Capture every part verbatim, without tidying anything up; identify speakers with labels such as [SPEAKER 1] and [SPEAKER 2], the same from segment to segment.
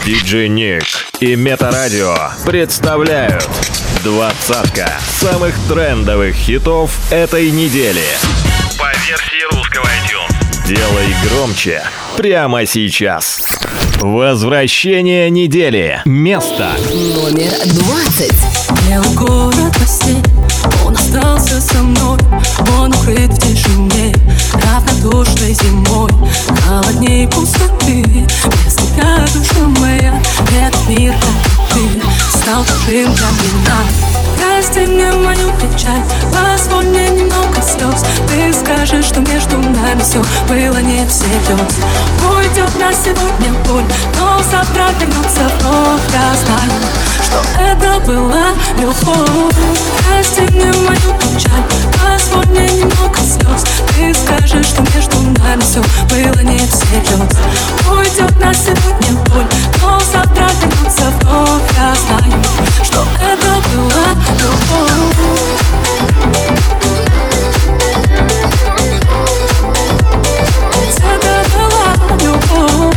[SPEAKER 1] диджей Ник и Метарадио представляют двадцатка самых трендовых хитов этой недели по версии русского iTunes. Делай громче прямо сейчас. Возвращение недели. Место
[SPEAKER 2] номер двадцать.
[SPEAKER 3] Белый город во сне, он остался со мной. Он укрыт в тишине, равнодушной зимой. Холодней пустоты, без тебя, душа моя. Этот мир, как ты, стал чужим для меня. Прости мне мою печаль, позволь мне немного слез. Ты скажешь, что между нами все было не всерьез. Уйдет на сегодня боль, но завтра вернется вновь. Я знаю, что это была любовь. Прости мне мою печаль, позволь мне немного слез. Ты скажешь, что между нами все было не всерьез. Уйдет на сегодня боль, но завтра вернется вновь. Я знаю, что это была любовь. Это была любовь.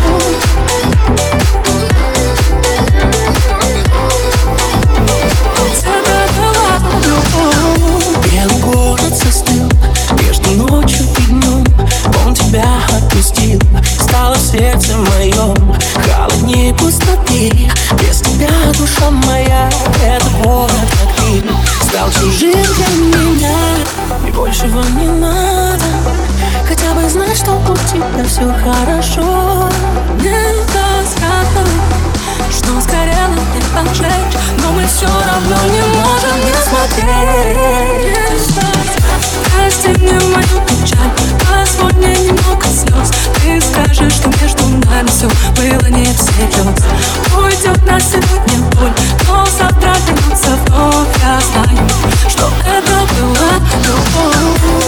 [SPEAKER 4] Белый город застыл между ночью и днем. Он тебя отпустил, стало в сердце моем холоднее пустоты. Без тебя, душа моя, этот город, как ты, стал чужим для меня. И большего не надо, хотя бы знать, что у тебя все хорошо.
[SPEAKER 3] Недостаточно, что сгорело не пожечь, но мы все равно не можем не смотреть. Прости мне мою печаль, позволь мне немного слез. Ты скажешь, что между нами все было не всерьез. Уйдет на сегодня боль, но завтра вернется вновь. Я знаю, что это была любовь.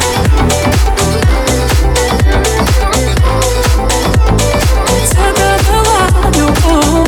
[SPEAKER 3] Это была любовь.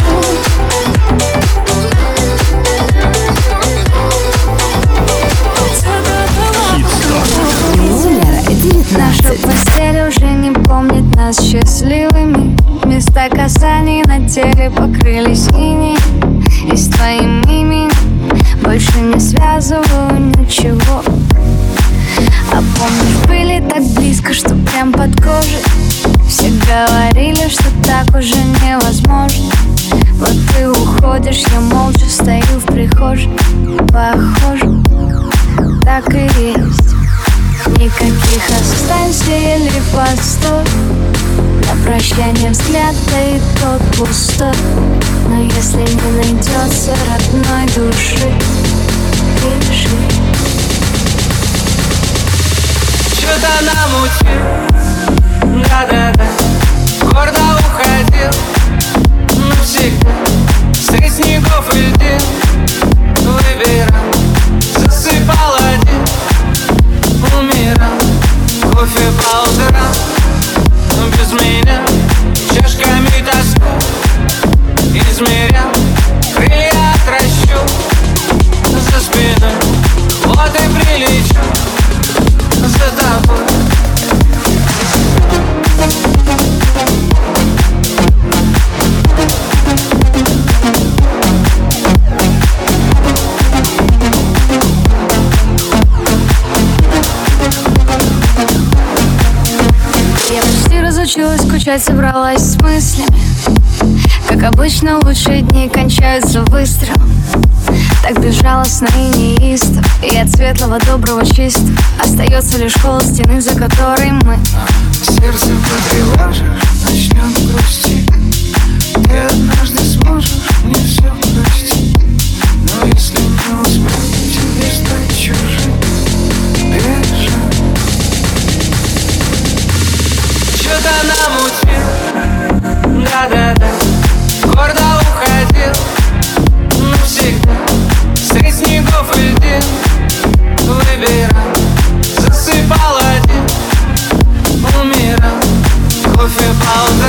[SPEAKER 5] Наша постель уже не помнит нас счастливыми. Места касаний на теле покрылись инеем. И с твоим именем больше не связываю ничего. А помнишь, были так близко, что прям под кожей. Все говорили, что так уже невозможно. Вот ты уходишь, я молча стою в прихожей. Похоже, так и есть. Никаких останься или постой. На прощание взгляд, да и тот пустой. Но если не найдется родной души, пиши.
[SPEAKER 4] Что-то намутил, да-да-да, гордо уходил навсегда. Средь снегов и льдин выбирал, засыпал один, умирал. Кофе по утрам, без меня, чашками тоску измерял. Крылья отращу за спиной, вот и прилечу за тобой.
[SPEAKER 5] Скучать собралась с мыслями. Как обычно, лучшие дни кончаются выстрелом. Так безжалостно и неистово. И от светлого, доброго, чистого остается лишь холод стены, за которой мы.
[SPEAKER 4] Сердце потревожишь, начнем грустить. Ты однажды сможешь мне все простить. Но если не успеть, тебе стать чужим. Бежать. Что-то намутил, да-да-да, гордо уходил навсегда. Средь снегов и льдин выбирал, засыпал один, умирал. Кофе по утрам.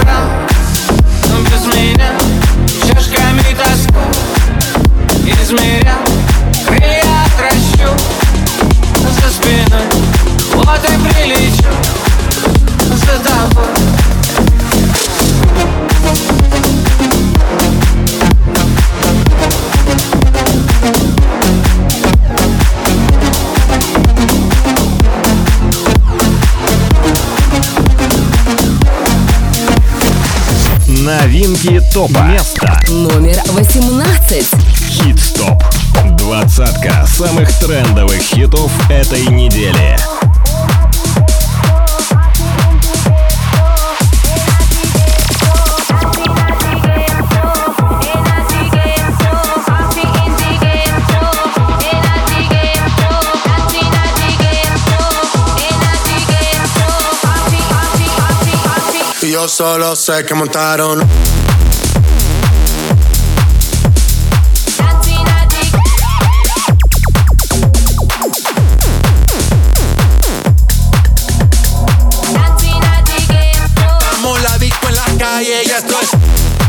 [SPEAKER 1] Новинки топа. Место
[SPEAKER 2] номер восемнадцать.
[SPEAKER 1] Хит-стоп. Двадцатка самых трендовых хитов этой недели.
[SPEAKER 6] Yo solo sé que montaron. Damos la disco en la calle y esto es.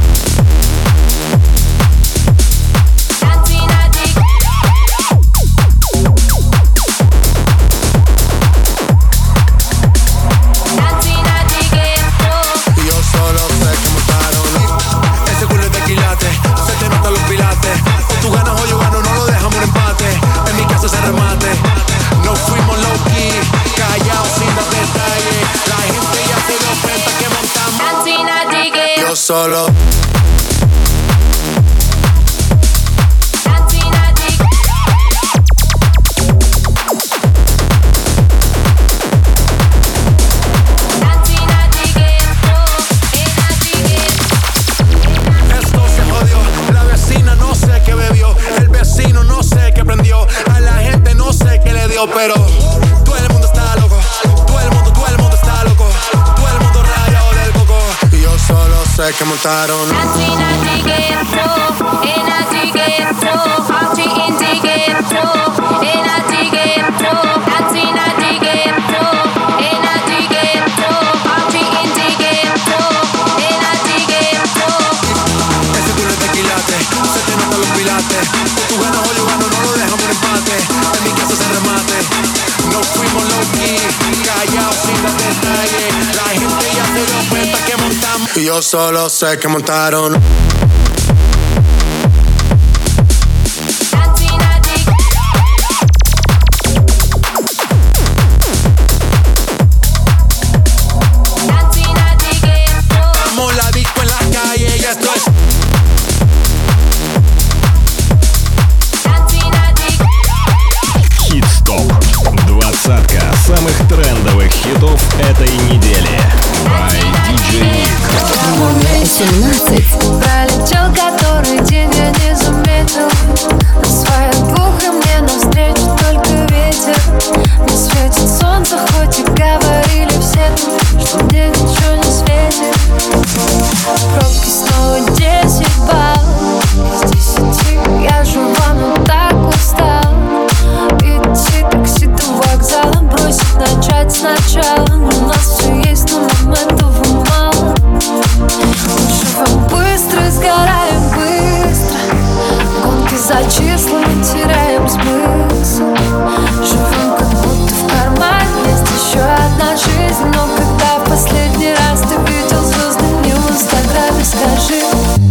[SPEAKER 6] Solo esto se jodió, la vecina no sé qué bebió, el vecino no sé qué prendió, a la gente no sé qué le dio, pero todo el mundo está loco, todo el mundo, todo el mundo está loco, todo el mundo rayado del coco. Y yo solo sé que montaron. Tú ganas o yo gano, no lo dejamos en empate. En mi casa se remate. No fuimos low-key, callados sin dar detalles. La gente ya se dio cuenta que montamos. Y yo solo sé que montaron. Damos la disco en la calle y esto es.
[SPEAKER 1] Двадцатка самых трендовых хитов этой недели. By ди джей Nick.
[SPEAKER 2] Номер семнадцать.
[SPEAKER 5] Пролетел который день, я не заметил. На своих двух и мне навстречу только ветер. Не светит солнце, хоть и говорили все тут, что мне ничего не светит. Пробки снова десять баллов из десяти. Я жива, но так устал. Идти такси до вокзала, бросить, начать сначала. У нас все есть, но моментов мало. Живем быстро, сгораем быстро. Гонки за числами, теряем смысл. Живем как будто в кармане есть еще одна жизнь. Но когда в последний раз ты видел звезды мне в инстаграме, скажи.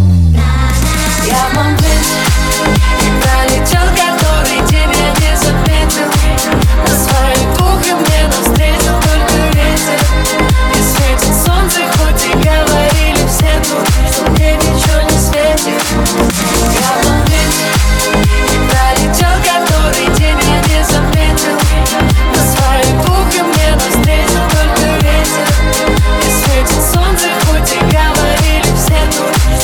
[SPEAKER 5] Я в момент пролетел который день, я не заметил. На своих двух и мне навстречу только ветер. Не светит солнце, хоть и говорили все тут, что мне ничего не светит. Я в момент пролетел который день, я не заметил. На своих двух и мне навстречу только ветер. Не светит солнце, хоть и говорили все тут,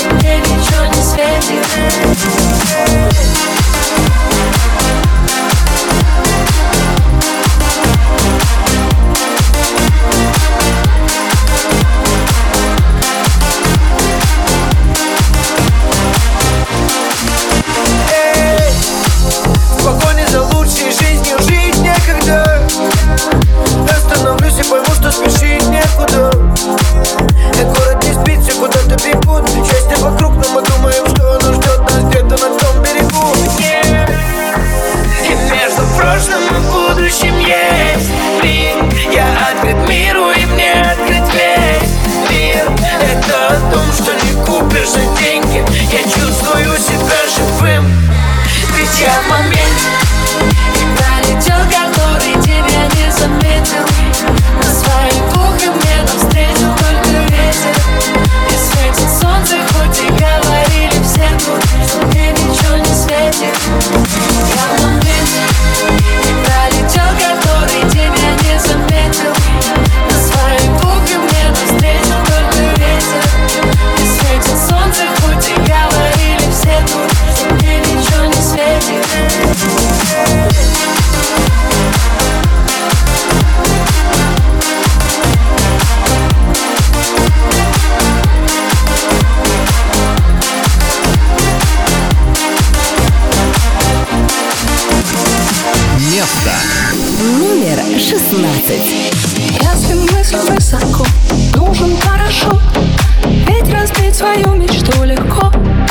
[SPEAKER 2] шестнадцать.
[SPEAKER 3] Если мысль высоко, нужен парашют. Ведь разбить свою мечту легко.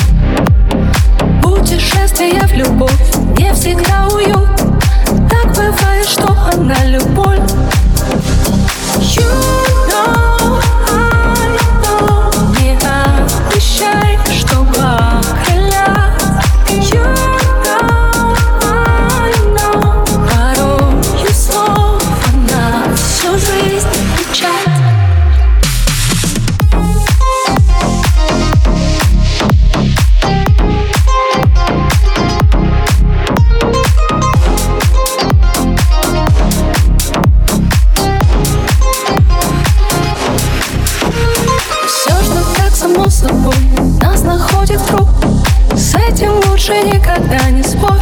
[SPEAKER 3] Путешествие в любовь не всегда уют. Так бывает, что она любовь. You know, I know. Не обещай, что покрылят. You know, I know. Порою слов на всю жизнь печать. Само собой нас находит круг. С этим лучше никогда не спорь.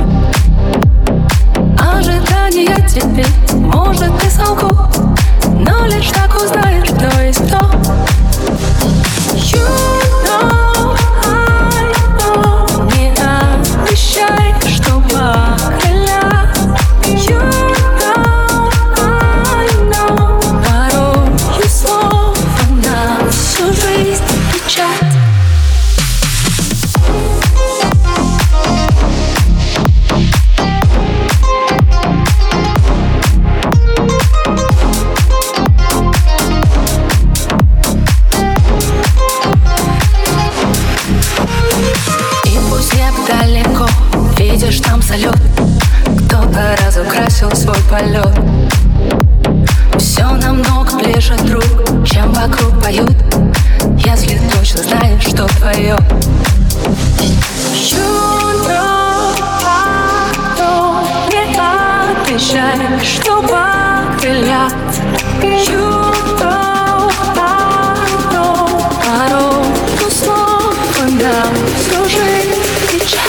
[SPEAKER 3] Ожидания теперь, может, и солгу, но лишь так узнаешь, кто есть кто. You know, I know. Не обещай, что покрылят. You know, I know. Порою слов на всю жизнь печать. И пусть небо далеко, видишь там салют. Кто-то разукрасил свой полет. Все намного ближе, друг, чем вокруг поют. Если точно знаешь, что твое. You know, I know. Не обещай, что покрылят. You know, I know. Порою слов на всю жизнь печать.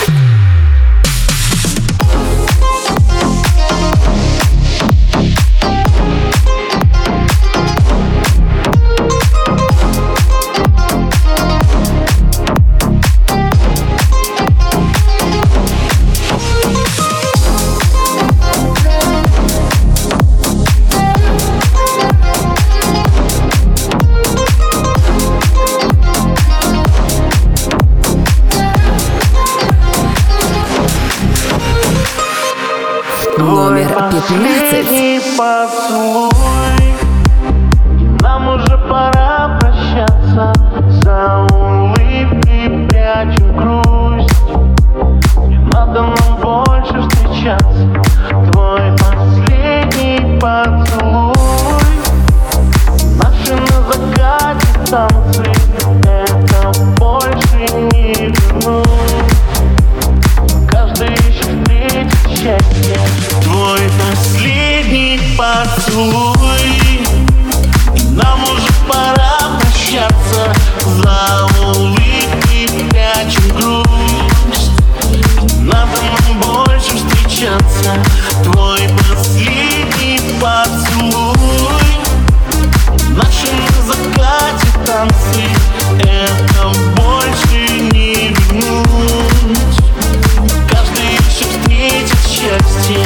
[SPEAKER 2] Номер пятнадцать.
[SPEAKER 7] Поцелуй, нам уже пора прощаться. За улыбкой прячем грусть. Не надо нам больше встречаться. Твой последний поцелуй, наши на закате танцы. Это больше не вернуть. Каждый ищет встретить счастье. Твой последний поцелуй, и нам уже пора прощаться. За улыбкой прячем грусть. Надо нам больше встречаться. Твой последний поцелуй, наши на закате танцы. Это больше не вернуть. Каждый ищет встретить счастье.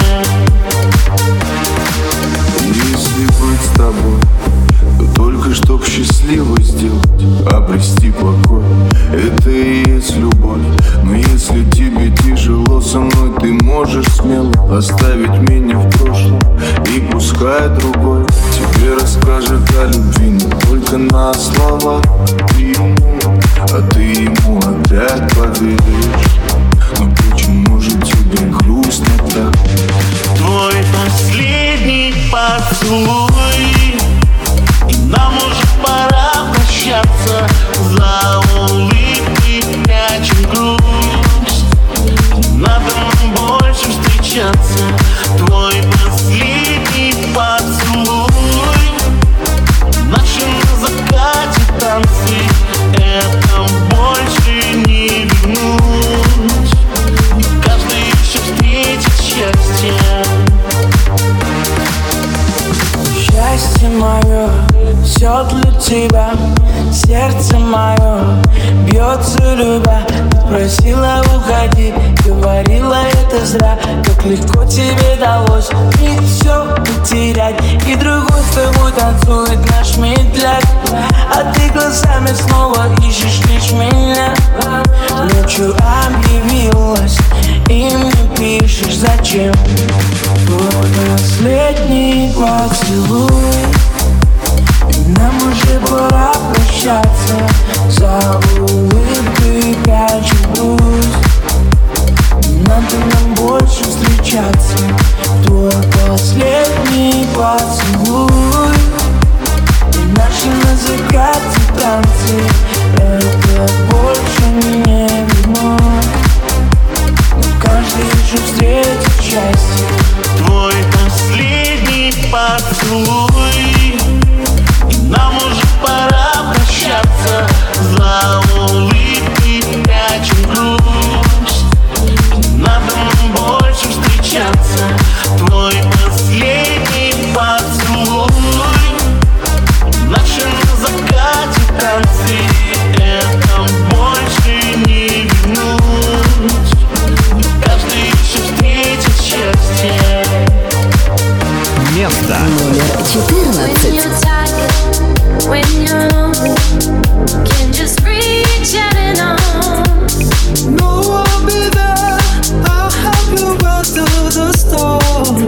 [SPEAKER 8] Если быть с тобой, то только чтоб счастливой сделать, обрести покой. Это и есть любовь. Но если тебе тяжело со мной, ты можешь смело оставить меня в прошлом, и пускай другой тебе расскажет о любви не только на словах. Ты ему, а ты ему опять поверишь. Но почему же тебе грустно так?
[SPEAKER 7] Твой последний поцелуй, и нам уже пора прощаться. За улыбкой прячем грусть. Надо нам больше встречаться. Твой последний поцелуй, наши на закате танцы. Это больше не вернуть. Каждый ищет встретить счастье.
[SPEAKER 4] Счастье мое, все для тебя. Сердце мое бьется, любя. просила уходи, говорила это зря. Как легко тебе далось мне все потерять. И другой с тобой танцует наш медляк, а ты глазами снова ищешь лишь меня. Ночью объявилась и мне пишешь зачем. Твой последний поцелуй, нам уже пора прощаться. За улыбкой прячу грусть, надо нам больше встречаться. Твой последний поцелуй, наши на закате танцы, это больше не вернуть. Но каждый еще встретит счастье.
[SPEAKER 7] Твой последний поцелуй, нам уже пора прощаться. За улыбкой прячем грусть, надо нам больше встречаться. Твой последний поцелуй, наши на закате танцы, это больше не вернуть. Каждый еще встретит счастье.
[SPEAKER 1] Место
[SPEAKER 2] номер четырнадцать.
[SPEAKER 3] No, I'll be there. I'll help you ride through the storm.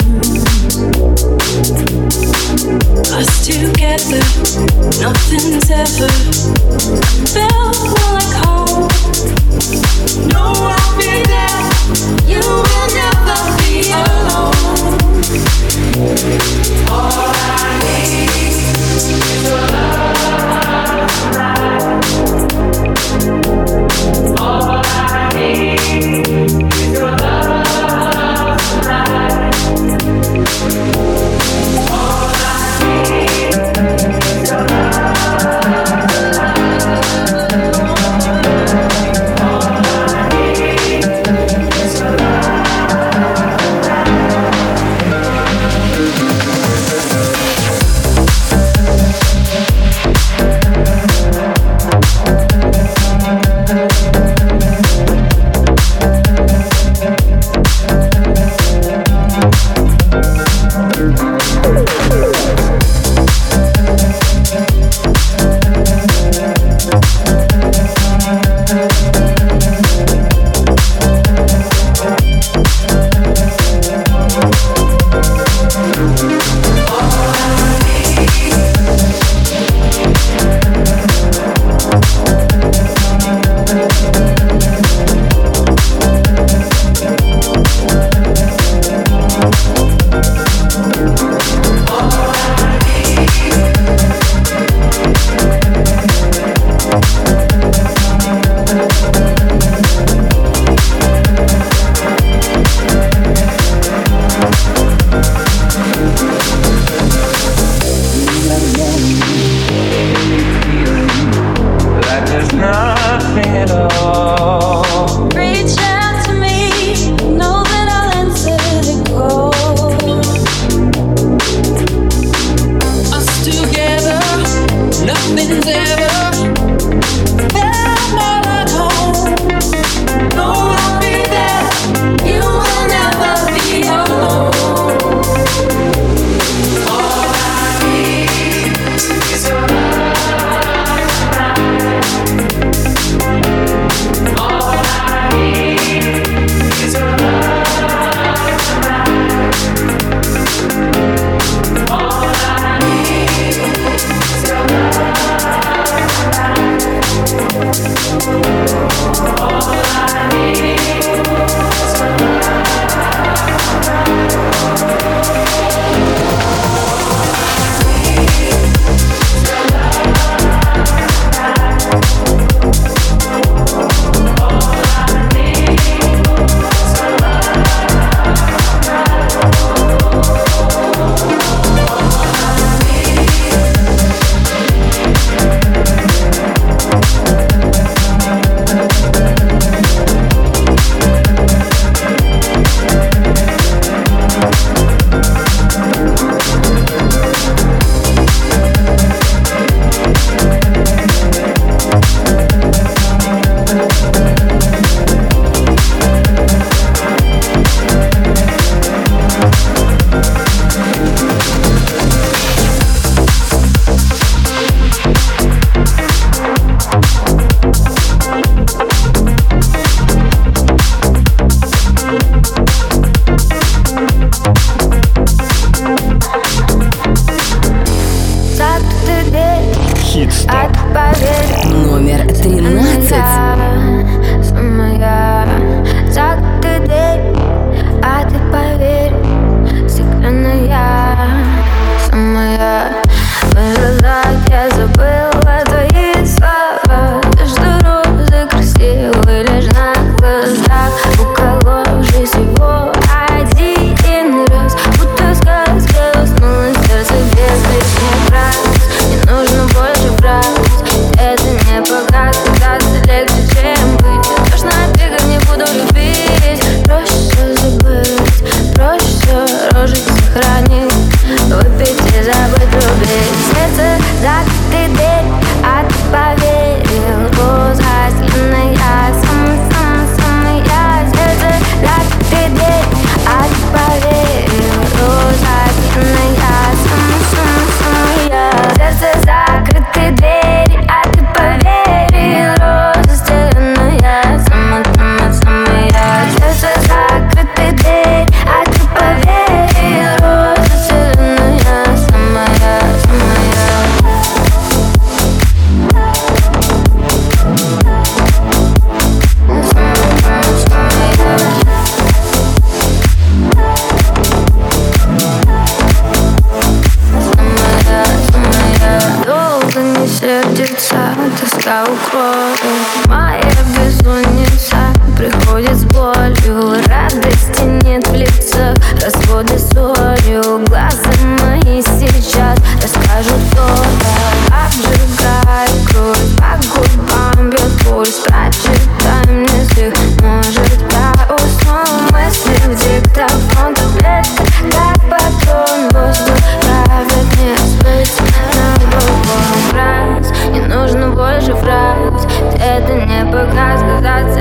[SPEAKER 3] Us together, nothing's ever felt more like home. No, I'll be there. You will never be alone. All I need is your love tonight. All I need is your love tonight. All I need is your love tonight. All I need is your love.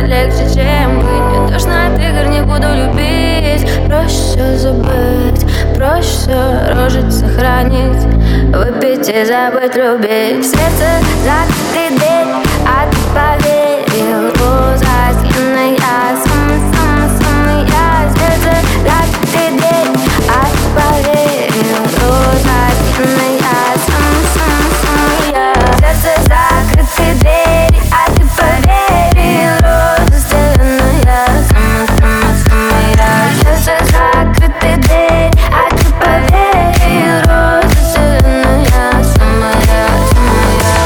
[SPEAKER 5] легче, чем быть. Я точно от игр не буду любить. Проще все забыть, проще все рожить, сохранить, выпить и забыть, любить. В сердце закрытый дверь, а ты поверил. Роза стены, я самый-самый-самый я. В сердце закрытый дверь, а ты поверил. Роза стены, я самый-самый-самый я. В сердце закрытый дверь, а ты поверил. Роза стены, я самый-самый-самый я. В сердце закрытый дверь, а ты поверил. Роза стены, я самая, самая.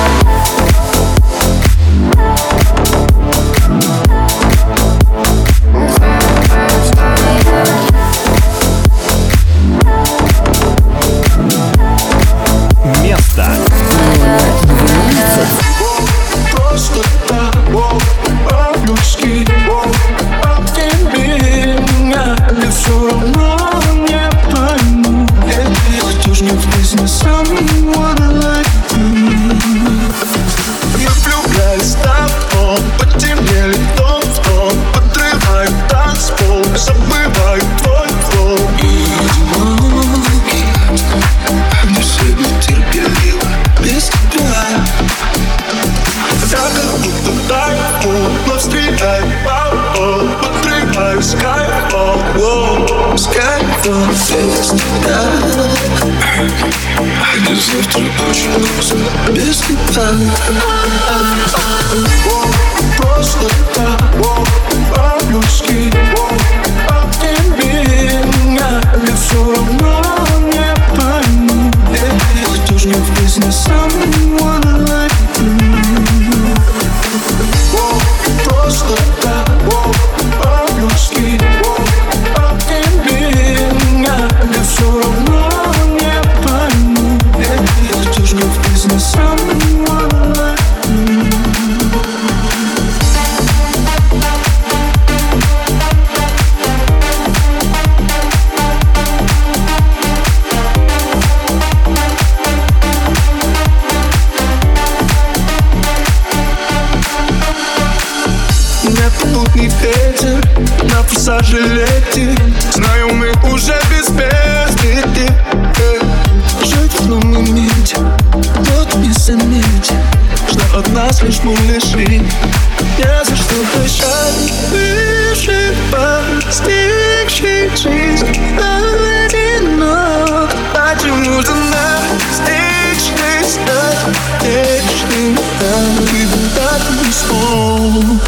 [SPEAKER 1] Место.
[SPEAKER 8] Просто так, по-людски, а тебе меня ли все равно не пойму. Кто ж не в жизни someone like me? Я влюбляюсь в тобой, потемнели тон в тон, подрываю танцпол, забываю твой флоу. Не себе терпеливо без тебя. Я как будто тайфун, но стреляю по полу, подрываю скайфол, скайфол без тебя. И завтра очень грустно без тебя. Просто так, по-людски, а тебе меня ли все равно не пойму. Кто ж не в жизни someone like me? Просто так, по-людски, а тебе меня ли все равно не пойму. Кто ж не в жизни someone like me? Непутный ветер на форсаже лети. Знаю, мы уже без перспектив. Жить в одном моменте, тот не заметит, что от нас лишь мы лишили. Не за что прощать, выше постигший жизнь одинок. Почему же нас вечный стать вечным? Ты так не смог.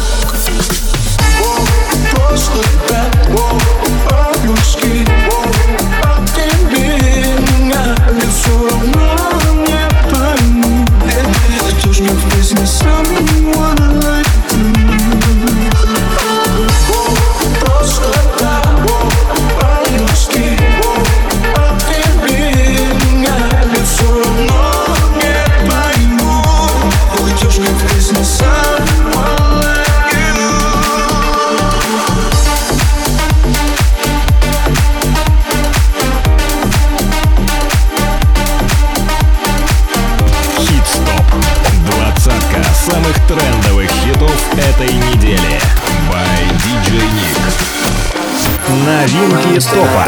[SPEAKER 8] Просто так, по-людски, а тебе меня ли все равно не пойму. Кто ж не в жизни someone like me? Просто так, по-людски, а тебе меня ли все равно не пойму. Кто ж не в жизни someone like you?
[SPEAKER 1] Двадцатка самых трендовых хитов этой недели. By ди джей Nick. Новинки топа.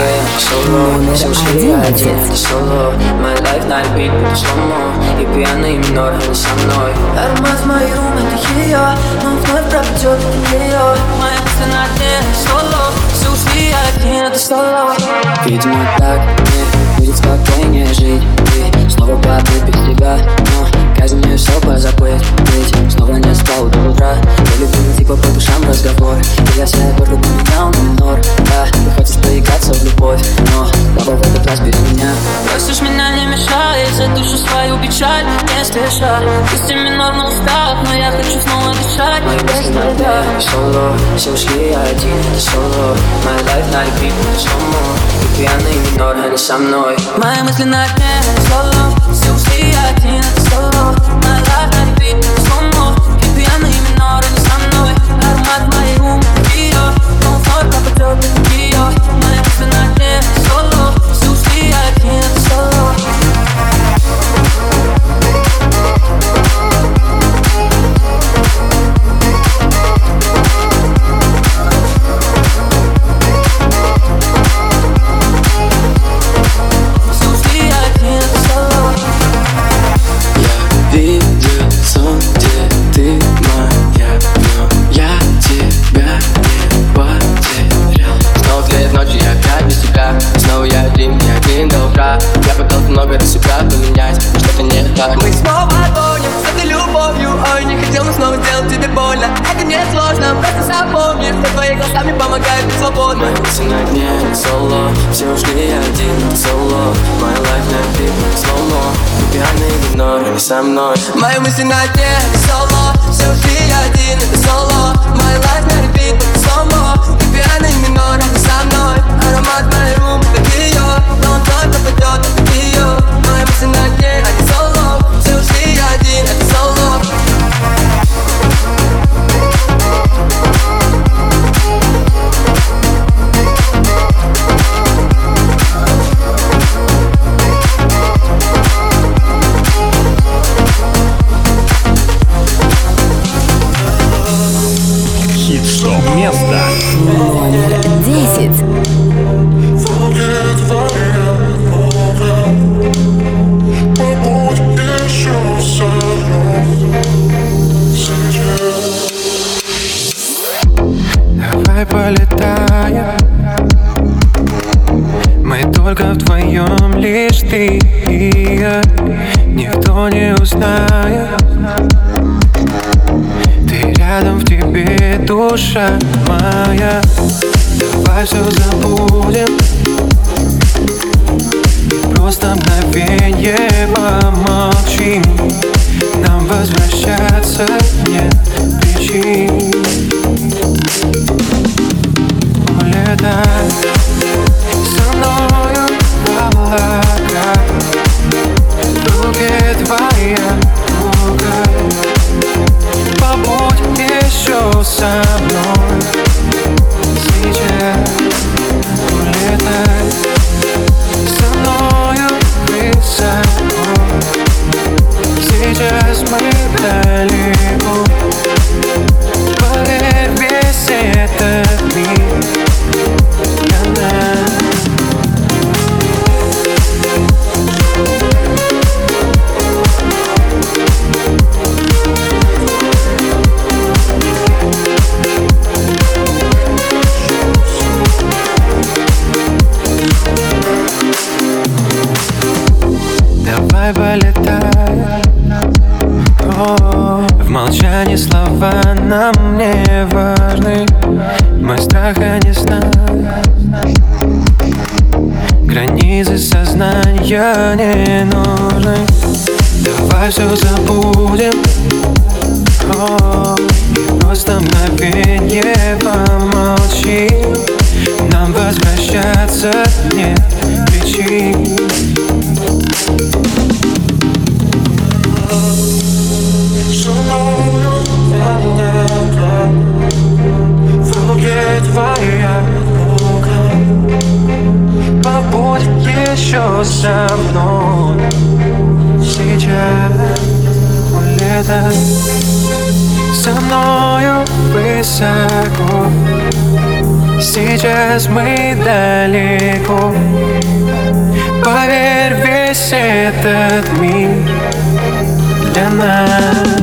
[SPEAKER 4] My life на репит, будто сломо. И пьяный минор, не со мной. Аромат в моей рум, это ее. Но вновь пропадет ее. Моя мысль на дне, соло. Все ушли, я один, это соло. Видимо, так мне будет спокойнее жить. И снова падаю без тебя. Но казнь мне все позабыть. Ведь снова не спал до утра. Я люблю типа по душам разговор. И я себя гордо поменял на минор. Да, ты хочешь поиграться в любовь, но баба в этот раз без меня. Просишь меня не мешай, за душу свою печаль не спеша. Пусть и минор на устах, но я хочу снова дышать. Мои мысли на дне, соло. Все ушли, я один, это соло. My life на репит, будто сломо. И пьяный минор, а не со мной. Мои мысли на дне, соло. Все ушли, я один, это соло. My life на репит, будто сломо. И пьяный минор, а не со мной. Аромат в моей рум, ее. Но вновь пропадет ее. Мои мысли на дне, соло. Все ушли, я один, это соло.
[SPEAKER 3] не сложно, просто запомни, что твои глазами помогают быть свободным.
[SPEAKER 4] Мои мысли на дне, соло, все ушли, я один, соло. My life на бит, slow-mo, ты пьяный игнор, не со мной.
[SPEAKER 3] Мои мысли на дне, соло, все ушли, я один, это соло. My life на repeat, это slow-mo, ты пьяный минор, не со мной. Аромат моей рум, как ее, но он только пойдет, как ее. Мои мысли на дне, а не соло, все ушли, я один, это соло.
[SPEAKER 1] Хит-стоп место
[SPEAKER 2] Номер десять.
[SPEAKER 9] Давай полетаем, мы только вдвоем, лишь ты и я. Никто не узнает, ты рядом, в тебе душа моя. Давай все забудем, просто мгновенье помолчим. Нам возвращаться нет причин. Улетай со мною в облака, в руке твоя рука. Побудь еще со мной сейчас. Улетай со мною высоко, сейчас мы далеко. Поверь, весь этот мир для нас. Давай полетай, о, в молчании слова нам не важны. Мы страха не знаем, границы сознания не нужны. Давай все забудем, о, и просто мгновенье помолчим. Нам возвращаться нет причин. В руке твоя рука, побудь еще со мной сейчас. Улетай со мною высоко, сейчас мы далеко. Поверь, весь этот мир для нас.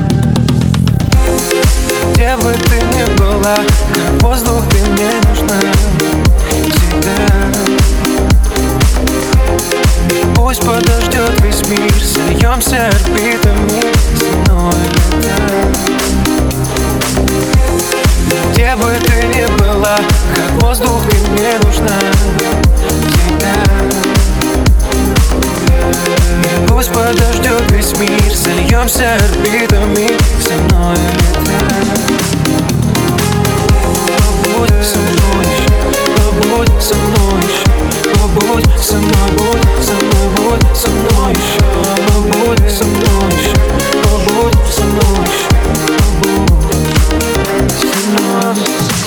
[SPEAKER 9] Где бы ты ни была, как воздух ты мне нужна всегда. Пусть подождет весь мир, сольемся орбитами со мной летать. Где бы ты ни была, как воздух ты мне нужна всегда. Пусть подождет весь мир, сольемся орбитами со мной летать. Побудь со мной, побудь со мной еще, побудь со мной, будь со мной, будь со мной еще, побудь со мной еще, побудь со мной еще, побудь со мной.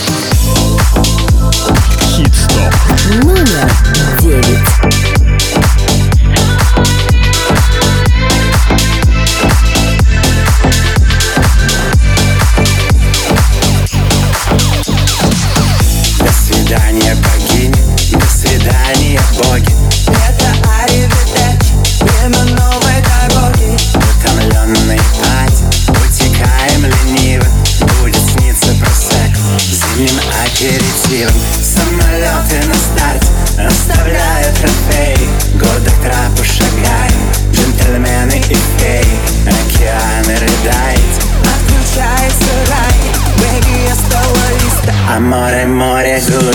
[SPEAKER 1] Хит-стоп
[SPEAKER 2] Номер девять.
[SPEAKER 10] say goodbye.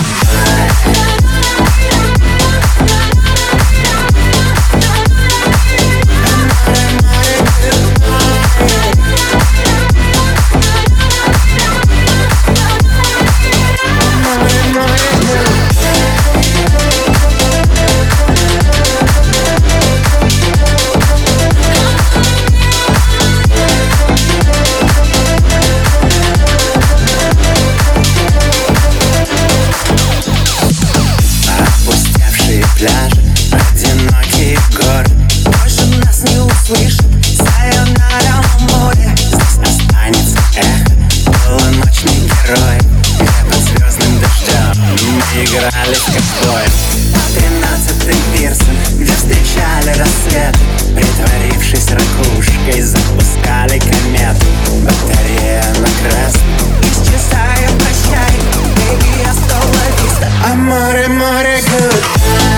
[SPEAKER 11] Пляжи, одинокие горы, больше нас не услышат. Сайонара море, здесь останется эхо полуночных героев, где под звездным дождем мы играли в ковбоев. Тринадцатый пирсон, где встречали рассветы, притворившись ракушкой, запускали комету. Батарея на красном, исчезаю, прощай, baby, hasta la vista. Amore, amore, goodbye.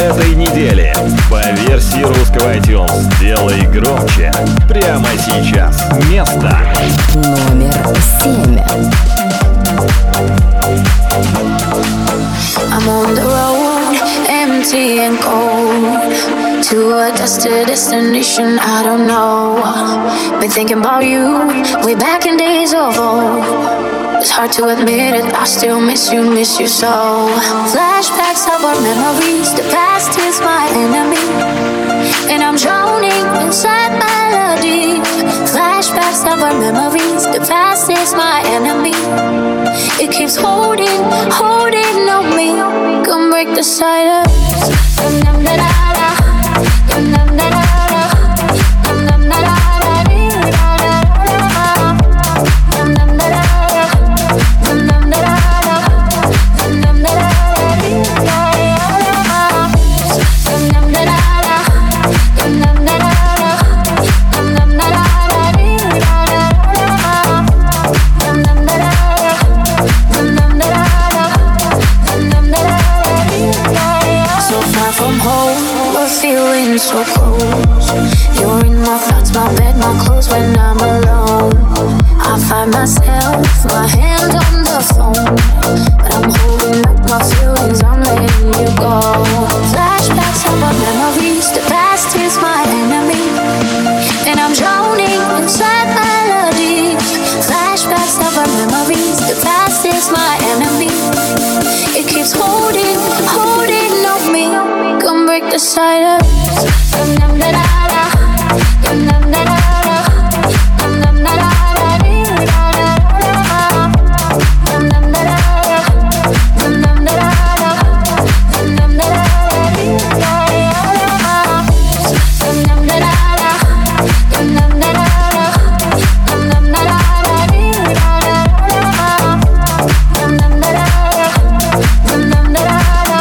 [SPEAKER 1] этой недели по версии русского iTunes. Делай громче прямо сейчас. Место
[SPEAKER 2] номер семь.
[SPEAKER 5] I'm on the road, empty and cold, to a destined destination I don't know. Been thinking about you, way back in days of old. It's hard to admit it, I still miss you, miss you so. Flashbacks of our memories, the past is my enemy, and I'm drowning inside melody. Flashbacks of our memories, the past is my enemy. It keeps holding, holding on me. Come break the silence. Dum dum da da da. Dum dum da da da. Dum dum da da da. Dum dum da da da. Dum dum da da da. Dum dum da da da. Dum dum da da da. Dum dum da da da. Dum dum da da from home, we're feeling so close. You're in my thoughts, my bed, my clothes when I'm alone. I find myself, my hand on the phone, but I'm holding up my feelings, I'm letting you go. Flashbacks of our memories, the past is my enemy, and I'm drowning inside melody. Flashbacks of our memories, the past is my enemy. It keeps holding, holding on me. Come break the silence. Dum dum da da da. Dum dum da da da. Dum dum da da da. Dum dum da da da. Dum dum da da da. Dum dum da da da. Dum dum da da da. Dum dum da da da. Dum dum da da da. Dum dum da da da. Dum dum da da da.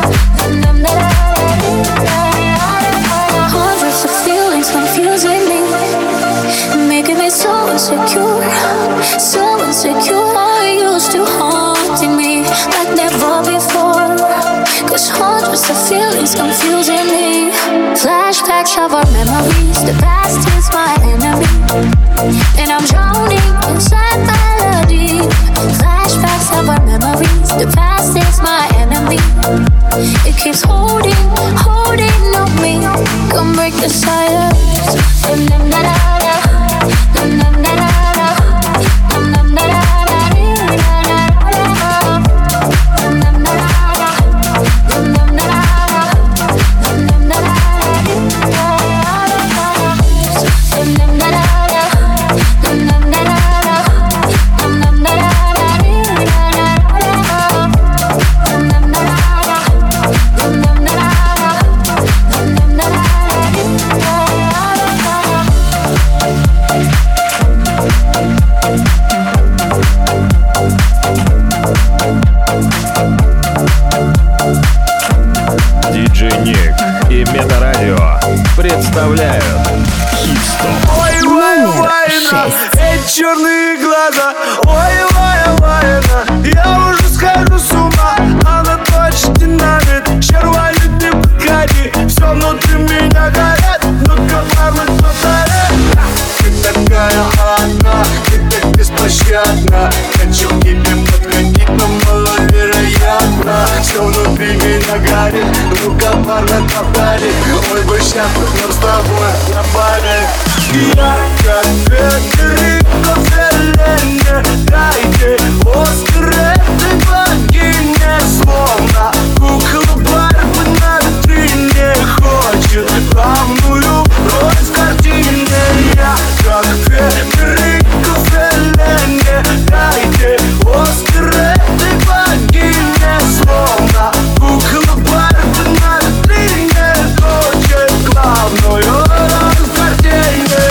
[SPEAKER 5] Hundreds of feelings confusing me, making me so insecure, so insecure. You're used to haunting me like never before. Cause hundreds of feelings confusing me. Flashbacks of our memories, the past is my enemy, and I'm drowning inside melody. Flashbacks of our memories, the past is my enemy. It keeps holding, holding on me. Come break the silence. Dum dum da da da. Dum dum da da da. Dum dum da da da. Dum dum da da da. Dum dum da da da. Dum dum da da da. Dum dum da da da. Dum dum da da da. Dum dum da da da.
[SPEAKER 1] Диджей Ник и Метарадио представляют хит-стоп.
[SPEAKER 10] Ой, вай, вайна, эти черные глаза. Ой, вай, вайна, я уже схожу с ума. Она точно динамит, червонит, не подходи. Все внутри меня горит, ну-ка, парни, повтори. Ты такая одна, ты так беспощадна. Хочу к тебе подходить, но маловероятно. Все внутри меня горит, ну-ка, парни, повтори. Ой, бы сейчас мы с тобой на паре. Я как Федерико Феллини, дайте Оскар этой богине. Словно кукла Барби на витрине, хочет главную роль в картине. Я как Федерико Феллини, дайте Оскар этой богине. Словно кукла Барби на витрине, хочет главную роль в картине.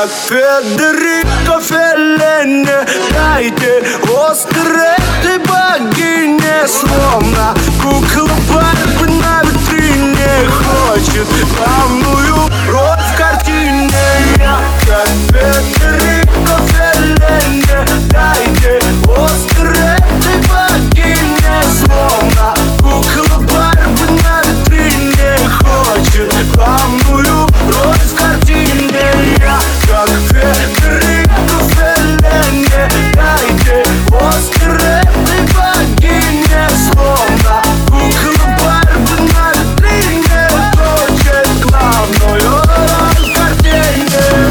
[SPEAKER 10] как Федерико Феллини. Дайте Оскар этой богине, словно кукла Барби на витрине хочет главную роль в картине. Я как Федерико Феллини. Дайте Оскар этой богине, словно кукла Барби на витрине хочет главную роль в картине. Я как Федерико Феллини. Дайте Оскар этой богине, словно кукла Барби на витрине хочет главную роль в картине.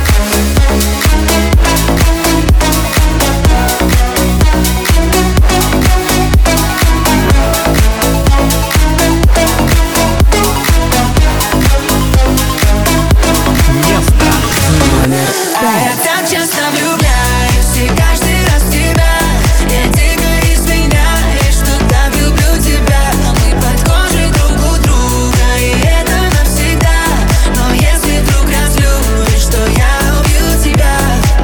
[SPEAKER 3] А я так часто влюбляюсь, и каждый раз в тебя. Я дико извиняюсь, что так люблю тебя. Мы под кожей друг у друга, и это навсегда. Но если вдруг разлюбишь, то я убью тебя.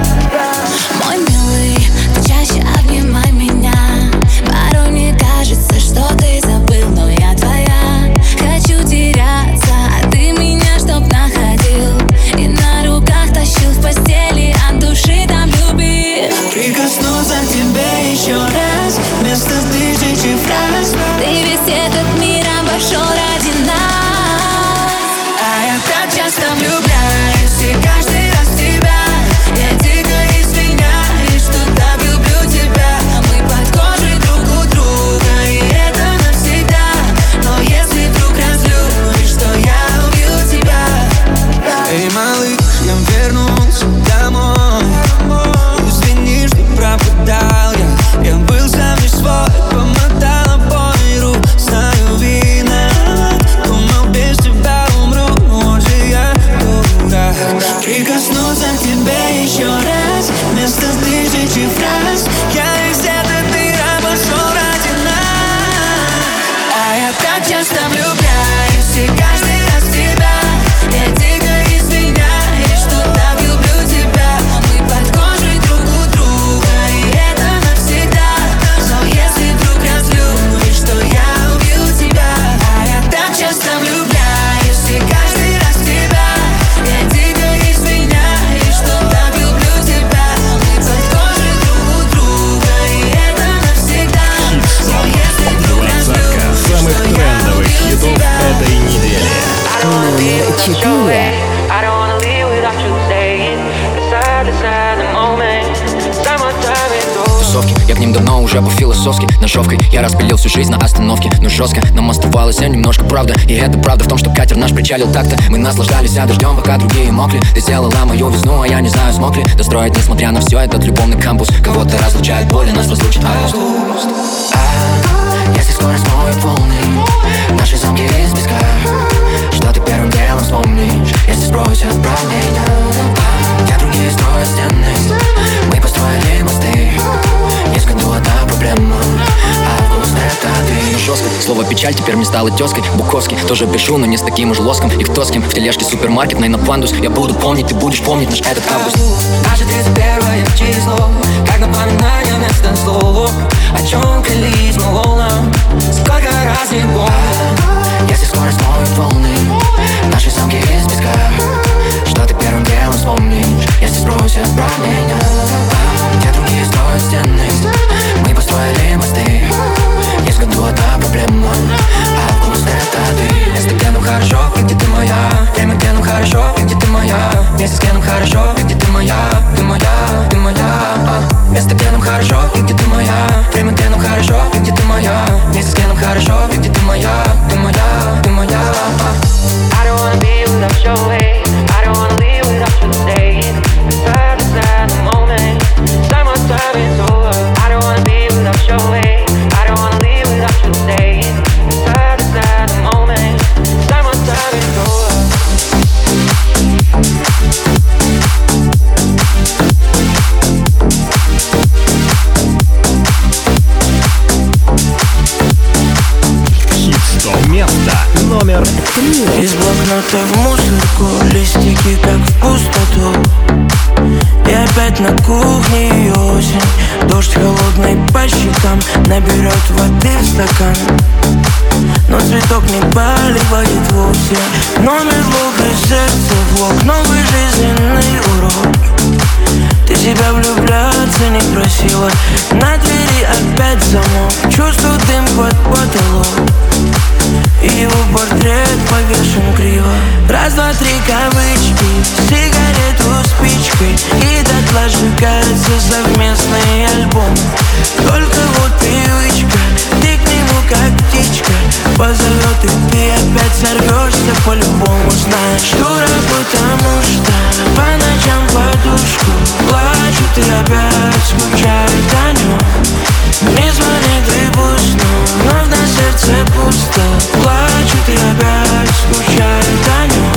[SPEAKER 3] Мой милый, ты чаще обнимай меня. Порой мне кажется, что ты забыл, но я твоя. Хочу теряться, а ты меня чтоб находил и на руках тащил в постели, от души там любил.
[SPEAKER 4] Прикоснуться к тебе еще раз, вместо тысячи фраз.
[SPEAKER 3] Ты весь этот мир обошел ради нас. А я так часто влюбляюсь, и каждый раз в тебя. Я дико извиняюсь, что так люблю тебя. Мы под кожей друг у друга, и это навсегда. Но если вдруг разлюбишь, то я убью тебя.
[SPEAKER 9] Эй, малыш, я вернулся домой. Извини, что пропадал я. Я был сам не свой, помотал обои рук. Знаю, виноват, думал, без тебя умру. Может, я дурак.
[SPEAKER 4] Прикоснуться к тебе еще раз, вместо тысячи фраз.
[SPEAKER 9] Я весь этот мир обошел ради нас.
[SPEAKER 3] А я так часто влюбляюсь, и каждый раз в тебя. Я дико извиняюсь, что так люблю тебя. Мы под кожей друг у друга, и это навсегда. Но если вдруг разлюбишь, то я убью тебя. А я так часто влюбляюсь, и каждый раз в тебя. Я дико извиняюсь, что так люблю тебя. Мы под кожей друг у друга, и это навсегда. Но если вдруг разлюбишь,
[SPEAKER 1] самых
[SPEAKER 3] то я
[SPEAKER 1] трендовых
[SPEAKER 3] убью
[SPEAKER 1] хитов
[SPEAKER 3] тебя.
[SPEAKER 1] этой недели.
[SPEAKER 2] Номер четыре.
[SPEAKER 7] I don't wanna leave without you staying. Beside the side, the moment. Summertime is over.
[SPEAKER 12] Тусовки, я к ним давно уже по-философски. Ножовкой я распилил всю жизнь на остановке. Но жестко нам оставалось немножко правда. И это правда в том, что катер наш причалил так-то. Мы наслаждались дождем, пока другие мокли. Ты сделала мою весну, а я не знаю, смог ли достроить, несмотря на все, этот любовный кампус. Кого-то разлучает боль, и нас разлучит август. А, если скоро смоют волны наши замки из песка, что ты первым делом вспомнишь, если сбросят правление? Я другие строят стены, мы построили мосты. Есть в году одна проблема, август это ты. Жестко, слово печаль теперь мне стало тезкой. Буковский тоже пишу, но не с таким уж лоском. И кто с кем в тележке супермаркетной на пандус. Я буду помнить, ты будешь помнить наш этот август.
[SPEAKER 9] Наше тридцать первое число, как напоминание вместо слова. О чем клялись мы волнам, сколько раз не помню.
[SPEAKER 12] Если скоро смоют волны наши замки из песка, что ты первым делом вспомнишь, если сбросят правление? Где другие строят стены, мы построили мосты. Есть в году одна проблема, август это ты. Место, где нам хорошо, и где ты моя. Время, где нам хорошо, и где ты моя. Место, где нам хорошо, и где ты моя. Ты моя, ты моя. Место, где нам хорошо, и где ты моя. Время, где нам хорошо, и где ты моя. Место, где нам хорошо, и где ты моя. Ты моя, ты моя.
[SPEAKER 7] I don't wanna be without your way. I don't wanna leave without you staying. Beside the side, the moment. Summertime is over. I don't wanna be without your way. I don't wanna leave without you staying. Beside the side, the moment. Summertime is over.
[SPEAKER 1] Хит сто место номер три.
[SPEAKER 4] Из блокнота в мусорку, листики как в пустоту. И опять на кухне осень. Дождь холодный по щекам, наберет воды в стакан. Но цветок не поливает вовсе. Номер лука, сердце в лоб, новый жизненный урок. Ты себя влюбляться не просила. На двери опять замок. Чувствую дым под потолок. И его портрет повешен криво. Раз, два, три кавычки, сигарету спичкой. И дотла сжигаются совместные альбомы. Только вот привычка, ты к нему как птичка. Позовет и ты опять сорвешься по-любому. Знаешь, дура, потому что по ночам подушку плачут и опять скучают о нем. Не звонит и пусть, но вновь на сердце пусто. Плачут и опять скучают о нем.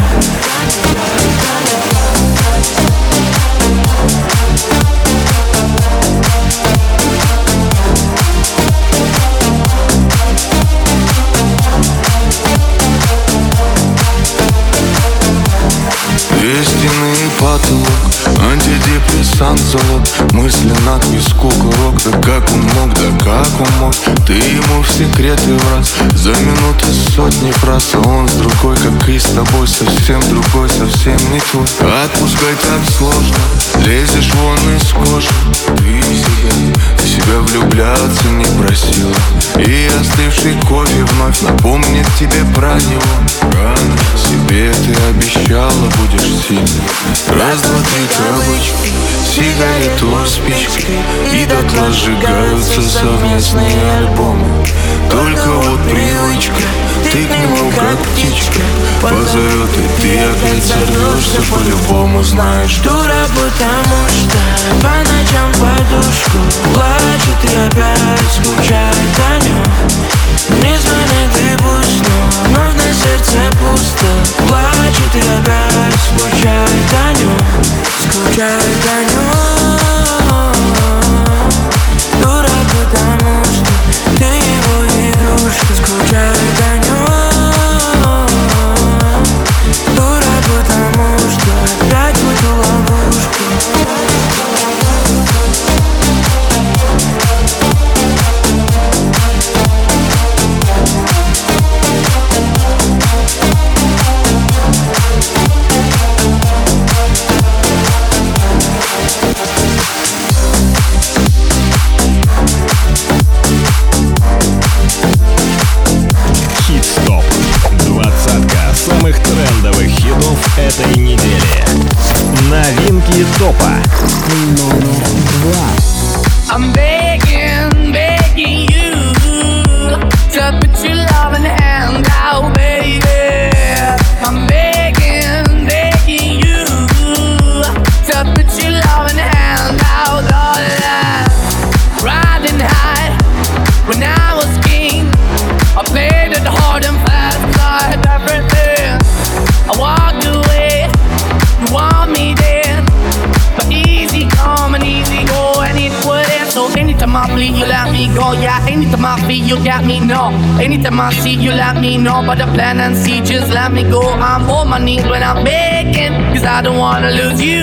[SPEAKER 8] Две стены и потолок, антидепрессант золот. Мысли на виску курок. Да как он мог, да как он мог. Ты ему в секреты враз. За минуты сотни фраз. А он с другой, как и с тобой. Совсем другой, совсем не твой. Отпускать так сложно, лезешь вон из кожи. Ты себя, ты себя влюбляться не просила. И остывший кофе вновь напомнит тебе про него. Рано себе ты обещала, будешь сильной. Раз, два, три кавычки, сигарету спичкой. И дотла сжигаются совместные альбомы. Только вот привычка, ты к нему как птичка. Позовет и ты опять сорвешься по-любому. Знаешь,
[SPEAKER 4] дура, потому что по ночам подушку плачет и опять скучает о нем. Не звонит и пусть, но вновь на сердце пусто. Плачет и опять скучает о нем. Скучает о нем. Дура, потому что ты его игрушка. Скучает о нем. Дура, потому что опять в эту ловушку.
[SPEAKER 1] Хит-стоп. Двадцатка самых трендовых хитов этой недели. Новинки топа.
[SPEAKER 2] Номер два.
[SPEAKER 3] I'm begging, begging you to put your loving hand out, baby. I'm begging, begging you to put your loving hand out, darling. Riding high when I was king, I played it hard and fast, I had everything. I walked away, you want me there, but easy come and easy go, and it wouldn't. So anytime I bleed, you let me go. Yeah, anytime I feel, you let me know. Anytime I see, you let me know. But the plan and see, just let me go. I'm on my knees when I'm begging, cause I don't wanna lose you.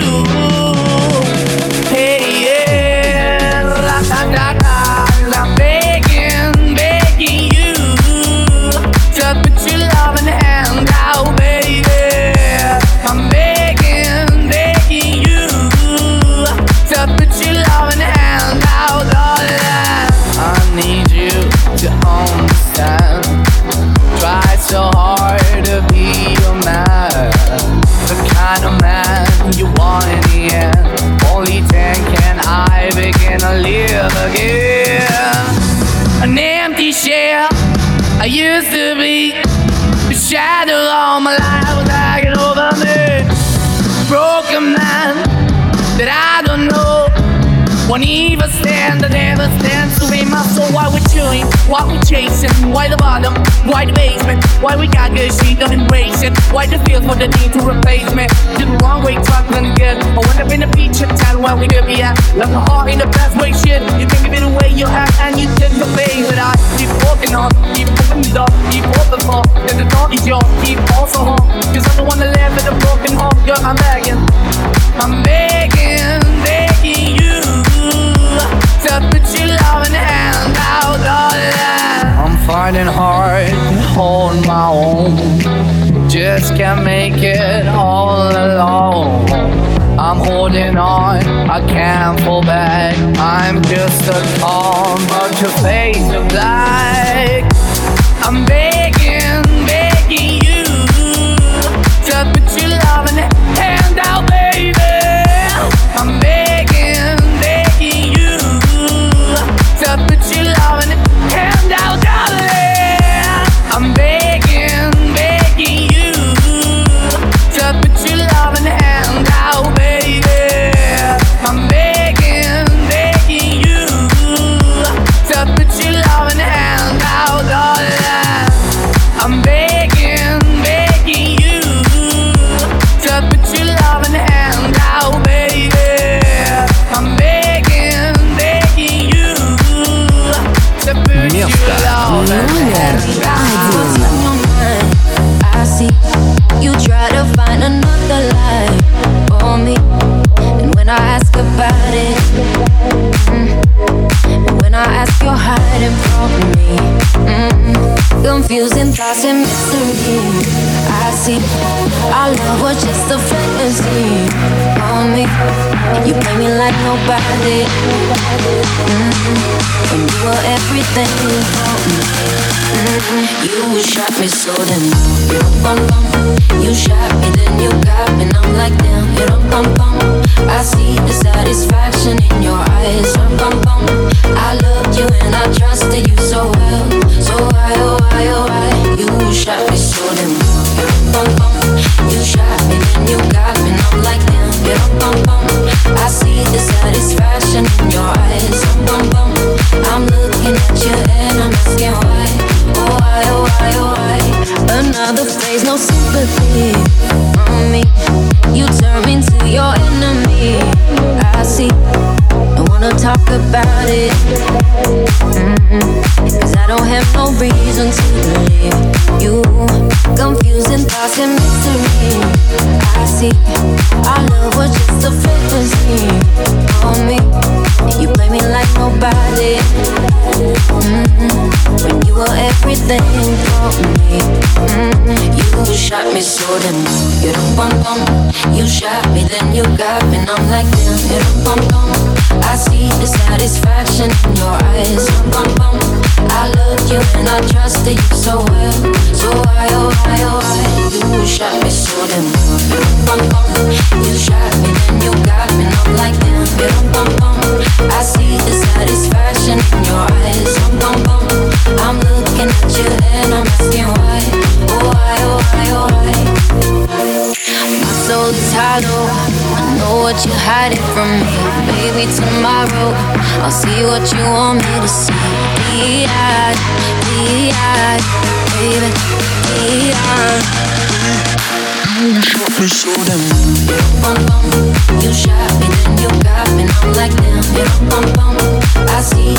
[SPEAKER 3] Hey, yeah, la da da da. I'm begging, begging you to put your loving hand out, baby. I'm begging, begging you to put your loving hand out, darling. I need you to understand. Try so hard to be your man, the kind of man you want in the end. Only then can I begin to live again. An empty shell I used to be, the shadow all my life was hanging over me. Broken man that I don't know won't even stand, I never stand to be my soul. Why we chewing, why we chasing, why the bottom, why the basement, why we got good, she don't embrace it. Why the feel for the need to replace me? Did the wrong way, talking good. I went up in the feature town where we could be at. Left my heart in the best way, shit. You can give it away, you have, and you didn't obey. But I keep walking on, keep moving it up, keep open for. There's a door
[SPEAKER 13] heart is yours, keep also home. Cause I don't wanna live with a broken home. Girl, I'm begging, I'm begging, begging you to put your loving hand out, darling. I'm finding hard to hold my own, just can't make it all alone. I'm holding on, I can't fall back. I'm just a calm, but your face of black. I'm begging, begging you to put your loving hand out, baby. I'm begging, begging you to put your loving hand out, darling. I'm begging, begging you to put your loving hand out, baby. I'm begging, begging you to put your loving hand out, darling. I'm begging, begging you to put your loving hand out, baby. I'm begging, begging you to put your loving hand out.
[SPEAKER 5] I see you try to find another life for me, and when I ask about it, mm, and when I ask you're hiding from me, mm, confusing thoughts and mystery. I see our love was just a fantasy on me, and you play me like nobody, mm, when you were everything for me. Mm-hmm. You shot me so then you bum bum. You shot me then you got me and I'm like damn. You bum bum. I see the satisfaction in your eyes. Bum bum. I loved you and I trusted you so well. So why oh why oh why you shot me so then you bum bum. You shot me then you got me and I'm like damn. You bum bum. I see the satisfaction in your eyes. Bum bum. I'm looking at you and I'm asking why. Oh why, oh why, oh why. Another phase, no sympathy on me. You turn me into your enemy. I see, I wanna talk about it, mm-hmm. Cause I don't have no reason to believe you. Confusing thoughts and mystery. I see, our love was just a fantasy on me. You play me like nobody, mm-hmm. When you were everything for me, mm-hmm. You shot me so then you don't bum bum. You shot me then you got me and I'm like damn. You don't bum bum. I see the satisfaction in your eyes. Bum bum. I loved you and I trusted you so well. So why oh why oh why you shot me so then you don't bum bum. You shot me then you got me and I'm like damn. You don't bum bum. I see the satisfaction in your eyes. Bum bum. I'm looking at you and I'm asking why. Oh why, oh why, oh why. My soul is hollow. I know what you're hiding from me. Maybe tomorrow I'll see what you want me to see. D-I, D-I, baby, D-I. You shot me so damn. You bum bum. You shot me then you got me and I'm like damn. You bum bum. I see